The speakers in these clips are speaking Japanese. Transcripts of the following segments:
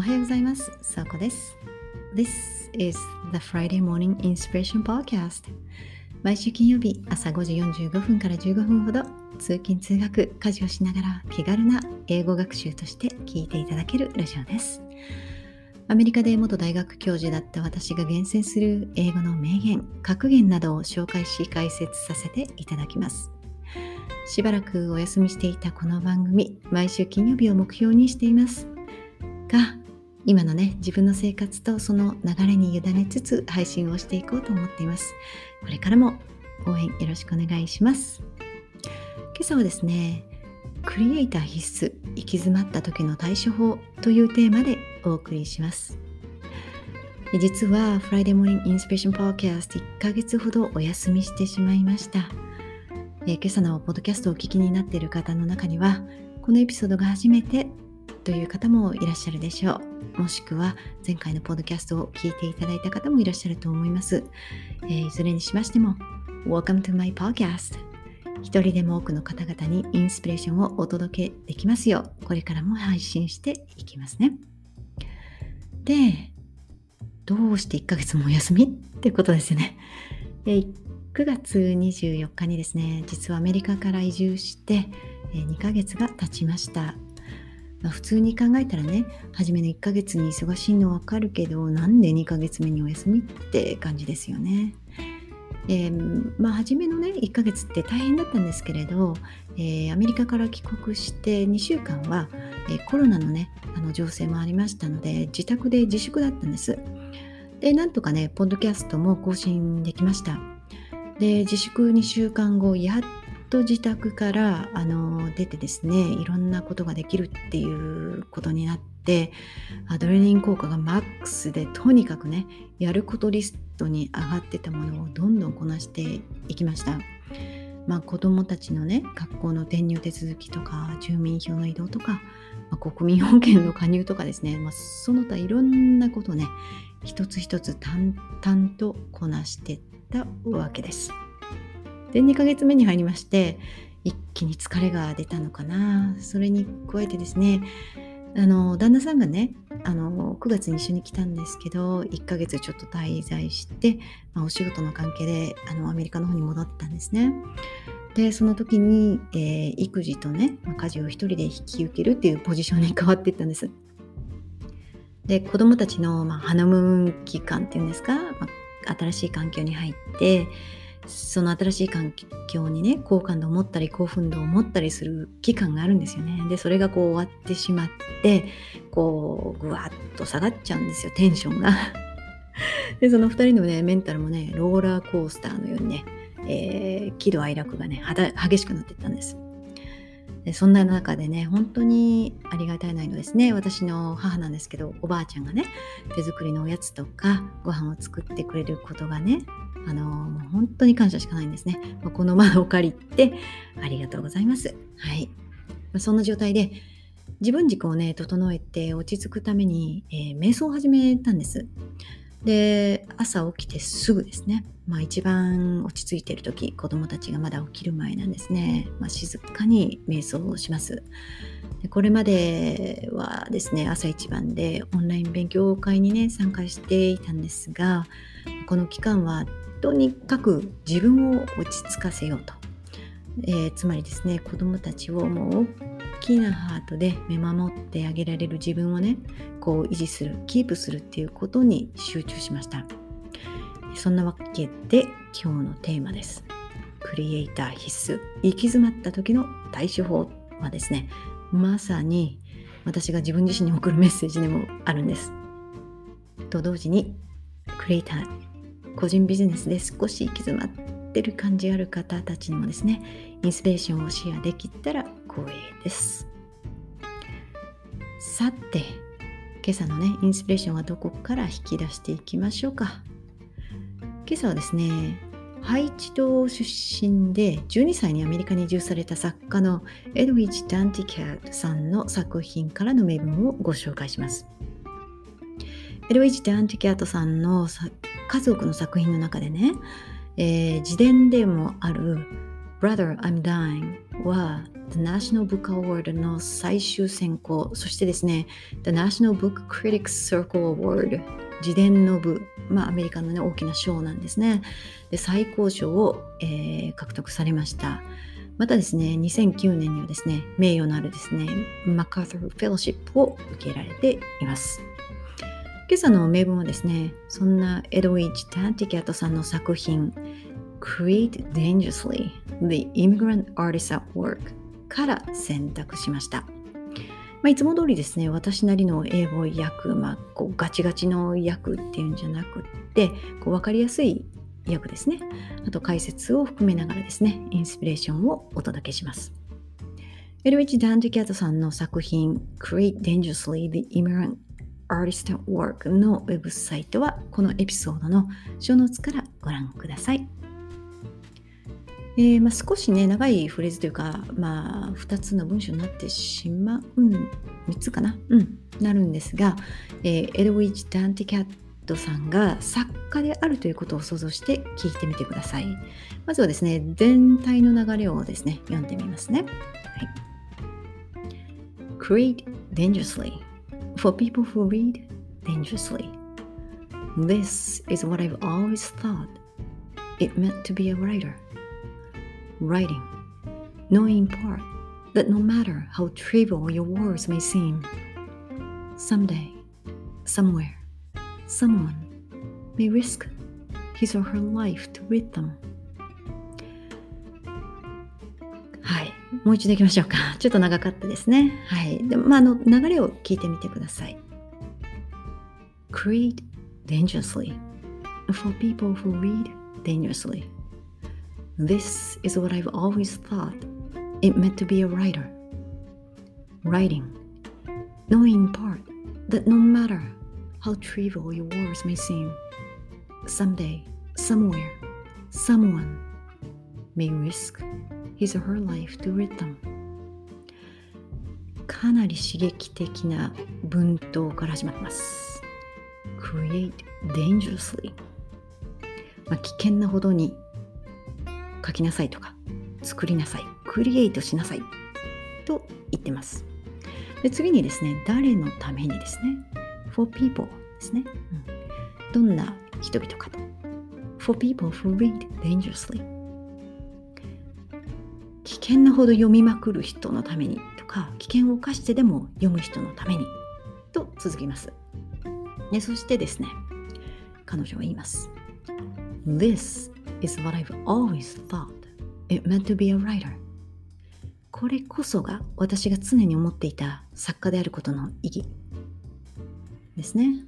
おはようございます。さこです。This is the Friday Morning Inspiration Podcast。毎週金曜日朝5時45分から15分ほど、通勤通学、家事をしながら気軽な英語学習として聞いていただけるラジオです。アメリカで元大学教授だった私が厳選する英語の名言、格言などを紹介し解説させていただきます。しばらくお休みしていたこの番組、毎週金曜日を目標にしていますが、今の自分の生活とその流れに委ねつつ配信をしていこうと思っています。これからも応援よろしくお願いします。今朝はクリエイター必須、行き詰まった時の対処法というテーマでお送りします。実は Friday Morning Inspiration Podcast 1ヶ月ほどお休みしてしまいました。今朝のポッドキャストをお聞きになっている方の中には、このエピソードが初めてという方もいらっしゃるでしょう。もしくは前回のポッドキャストを聞いていただいた方もいらっしゃると思います。いずれにしましても Welcome to my podcast。 一人でも多くの方々にインスピレーションをお届けできますよう、これからも配信していきますね。で、どうして1ヶ月もお休みってことですよね。9月24日に実はアメリカから移住して2ヶ月が経ちました。普通に考えたら初めの1ヶ月に忙しいのわかるけど、なんで2ヶ月目にお休みって感じですよね。初めの1ヶ月って大変だったんですけれど、アメリカから帰国して2週間は、コロナの情勢もありましたので、自宅で自粛だったんです。で、なんとかポッドキャストも更新できました。で、自粛2週間後、やっと自宅から出ていろんなことができるっていうことになって、アドレナリン効果がマックスで、とにかくやることリストに上がってたものをどんどんこなしていきました。子どもたちの学校の転入手続きとか、住民票の移動とか、国民保険の加入とかその他いろんなことを一つ一つ淡々とこなしていったわけです。で、2ヶ月目に入りまして、一気に疲れが出たのかな。それに加えて旦那さんが9月に一緒に来たんですけど、1ヶ月ちょっと滞在して、お仕事の関係でアメリカの方に戻ったんですね。で、その時に、育児と家事を一人で引き受けるっていうポジションに変わっていったんです。で、子供たちの、ハネムーン期間っていうんですか、新しい環境に入って、その新しい環境に好感度を持ったり興奮度を持ったりする期間があるんですよね。で、それが終わってしまって、ぐわっと下がっちゃうんですよ、テンションが。で、その2人のメンタルもローラーコースターのように喜怒哀楽が激しくなっていったんです。で、そんな中で本当にありがたいのですね、私の母なんですけど、おばあちゃんが手作りのおやつとかご飯を作ってくれることがもう本当に感謝しかないんですね。この場を借りてありがとうございます。はい。そんな状態で自分軸を整えて落ち着くために、瞑想を始めたんです。で、朝起きてすぐ一番落ち着いている時、子供たちがまだ起きる前なんですね。静かに瞑想をします。で、これまでは朝一番でオンライン勉強会に参加していたんですが、この期間はとにかく自分を落ち着かせようと、つまり子供たちをもう大きなハートで見守ってあげられる自分を維持する、キープするっていうことに集中しました。そんなわけで今日のテーマです。クリエイター必須、行き詰まった時の対処法はまさに私が自分自身に送るメッセージでもあるんです。と同時に、クリエイター、個人ビジネスで少し行き詰まってる感じある方たちにもインスピレーションをシェアできたら光栄です。さて、今朝のインスピレーションはどこから引き出していきましょうか。今朝はハイチ島出身で12歳にアメリカに移住された作家のエドウィッジ・ダンティキャットさんの作品からの名文をご紹介します。エドウィッジ・ダンティキャットさんの数多くの作品の中で自伝でもある Brother, I'm Dying は The National Book Award の最終選考、そしてですね The National Book Critics Circle Award、 自伝の部、アメリカの、大きな賞なんですね。で最高賞を、獲得されました。またですね2009年にはですね名誉のあるですねマッカーサーフェローシップを受けられています。今朝の名文はですね、そんなエドウィッジ・タンティキャットさんの作品 Create Dangerously The Immigrant Artist at Work から選択しました。いつも通りですね、私なりの英語訳、ガチガチの訳っていうんじゃなくって、分かりやすい訳ですね。あと解説を含めながらですね、インスピレーションをお届けします。エドウィッジ・タンティキャットさんの作品 Create Dangerously The Immigrant Artist at Work のウェブサイトはこのエピソードのショーノーツからご覧ください。少しね長いフレーズというか、2つの文章になってしまう、3つかな、なるんですが、エドウィッジ・タンティキャットさんが作家であるということを想像して聞いてみてください。まずはですね全体の流れをですね読んでみますね。Create dangerously for people who read dangerously. This is what I've always thought it meant to be a writer. Writing, knowing in part that no matter how trivial your words may seem, someday, somewhere, someone may risk his or her life to read them. はい、もう一度いきましょうか。ちょっと長かったですね。はい。で、流れを聞いてみてください。Create dangerously for people who read dangerously.This is what I've always thought it meant to be a writer. Writing, knowing in part that no matter how trivial your words may seem, someday, somewhere, someone may risk his or her life to read them. かなり刺激的な文頭から始まります。Create dangerously、危険なほどに書きなさいとか作りなさい、クリエイトしなさいと言ってます。で次にですね誰のためにですね for people ですね、どんな人々かと for people who read dangerously 危険なほど読みまくる人のためにとか危険を冒してでも読む人のためにと続きます。でそしてですね彼女は言います。 This is what I've always thought it meant to be a writer. これこそが私が常に思っていた作家であることの意義ですね。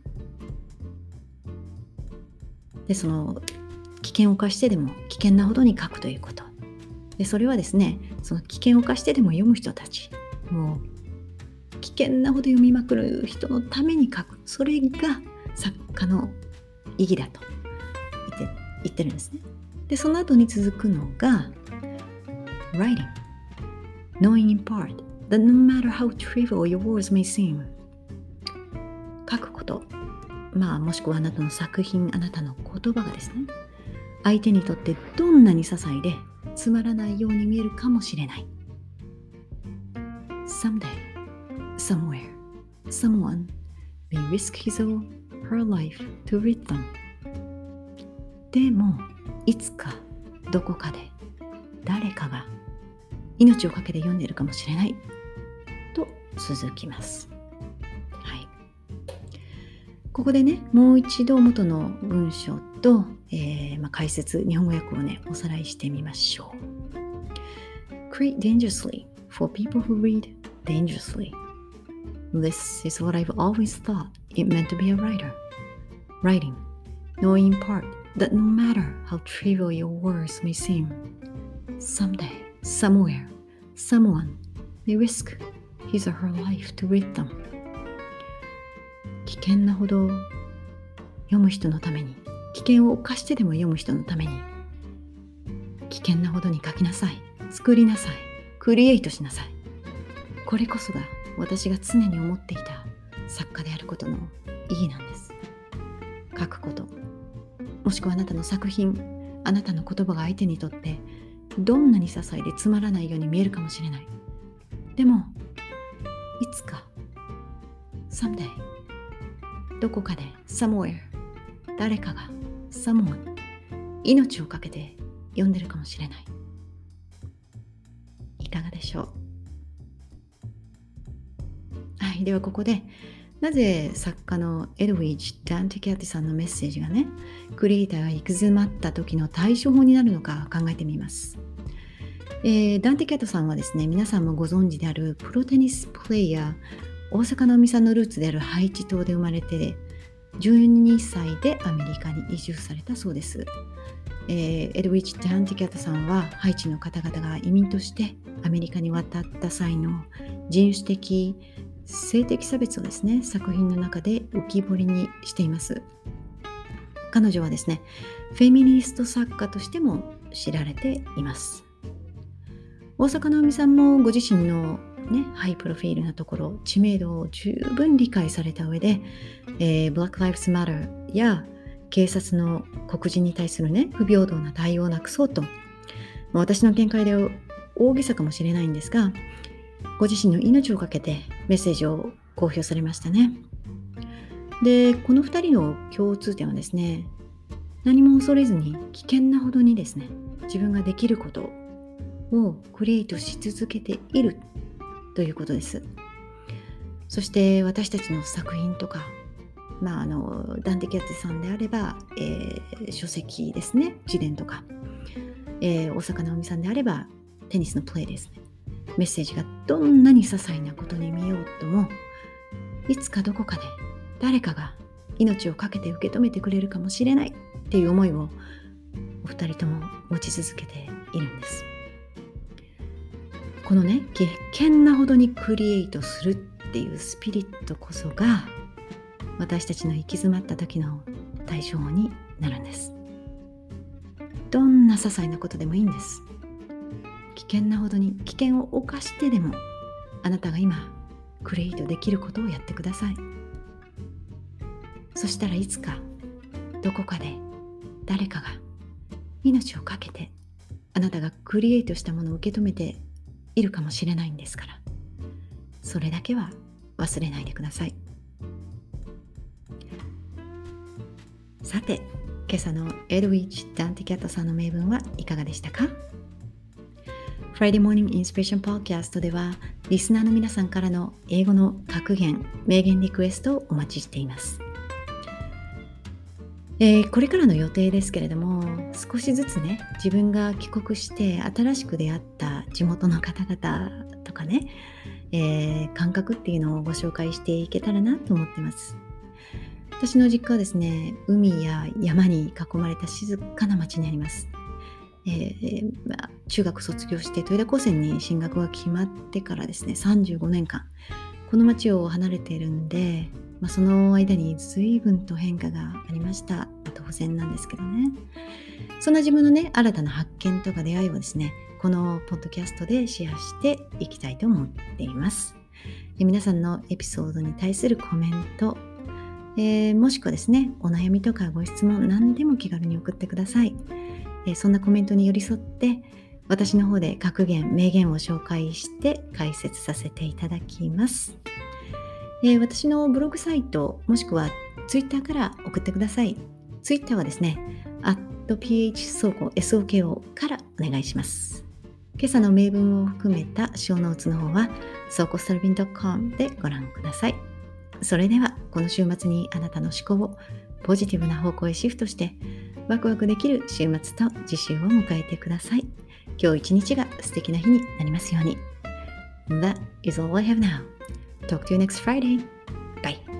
でその危険を冒してでも危険なほどに書くということで、それはですねその危険を冒してでも読む人たち、もう危険なほど読みまくる人のために書く、それが作家の意義だと言ってるんですね。でその後に続くのが Writing, knowing in part that no matter how trivial your words may seem. 書くこと、もしくはあなたの作品、あなたの言葉がですね相手にとってどんなに些細でつまらないように見えるかもしれない。 Someday, somewhere, someone may risk his or her life to read them. でもいつかどこかで誰かが命を懸けて読んでいるかもしれないと続きます。はい。ここでねもう一度元の文章と、解説日本語訳をねおさらいしてみましょう。 Create dangerously for people who read dangerously. This is what I've always thought it meant to be a writer. Writing, knowing in part that no matter how trivial your words may seem, someday, somewhere, someone may risk his or her life to read them. 危険なほど読む人のために、危険を冒してでも読む人のために、危険なほどに書きなさい、作りなさい、クリエイトしなさい。これこそが私が常に思っていた作家であることの意義なんです。書くこと、もしくはあなたの作品、あなたの言葉が相手にとってどんなに些細でつまらないように見えるかもしれない。でも、いつか、someday、どこかで、somewhere、誰かが、someone、命をかけて読んでるかもしれない。いかがでしょう。はい、ではここで、なぜ作家のエドウィッジ・ダンティ・キャッティさんのメッセージがね、クリエイターが行き詰まった時の対処法になるのか考えてみます。ダンティ・キャットさんはですね、皆さんもご存知であるプロテニスプレイヤー、大坂なおみさんのルーツであるハイチ島で生まれて、12歳でアメリカに移住されたそうです。エドウィッジ・ダンティ・キャットさんはハイチの方々が移民としてアメリカに渡った際の人種的、性的差別をですね、作品の中で浮き彫りにしています。彼女はですね、フェミニスト作家としても知られています。大坂なおみさんもご自身の、ハイプロフィールなところ、知名度を十分理解された上で、Black Lives Matter や警察の黒人に対する不平等な対応をなくそうと、私の見解で大げさかもしれないんですが、ご自身の命をかけてメッセージを公表されましたね。で、この2人の共通点はですね、何も恐れずに危険なほどにですね、自分ができることをクリエイトし続けているということです。そして私たちの作品とか、ダンティ・キャッティさんであれば、書籍ですね、自伝とか、大坂なおみさんであればテニスのプレイですね。メッセージがどんなに些細なことに見ようとも、いつかどこかで誰かが命をかけて受け止めてくれるかもしれないっていう思いをお二人とも持ち続けているんです。この危険なほどにクリエイトするっていうスピリットこそが私たちの行き詰まった時の対処法になるんです。どんな些細なことでもいいんです。危険なほどに危険を冒してでもあなたが今クリエイトできることをやってください。そしたらいつかどこかで誰かが命をかけてあなたがクリエイトしたものを受け止めているかもしれないんですから、それだけは忘れないでください。さて、今朝のエドウィッジ・ダンティ・キャットさんの名文はいかがでしたか？ Friday Morning Inspiration Podcast ではリスナーの皆さんからの英語の格言、名言リクエストをお待ちしています。これからの予定ですけれども、少しずつ自分が帰国して新しく出会った地元の方々とか感覚っていうのをご紹介していけたらなと思ってます。私の実家はですね、海や山に囲まれた静かな町にあります。中学卒業して豊田高専に進学が決まってからですね、35年間この町を離れているんで、その間に随分と変化がありました。当然なんですけどね。そんな自分の新たな発見とか出会いをですね、このポッドキャストでシェアしていきたいと思っています。皆さんのエピソードに対するコメント、もしくはですね、お悩みとかご質問、何でも気軽に送ってください。そんなコメントに寄り添って私の方で格言、名言を紹介して解説させていただきます。私のブログサイトもしくはツイッターから送ってください。ツイッターはですね、@phsoko からお願いします。今朝の名文を含めたショーノーツの方は sokostarvin.com でご覧ください。それではこの週末にあなたの思考をポジティブな方向へシフトしてワクワクできる週末と次週を迎えてください。今日一日が素敵な日になりますように。That is all I have now. Talk to you next Friday. Bye.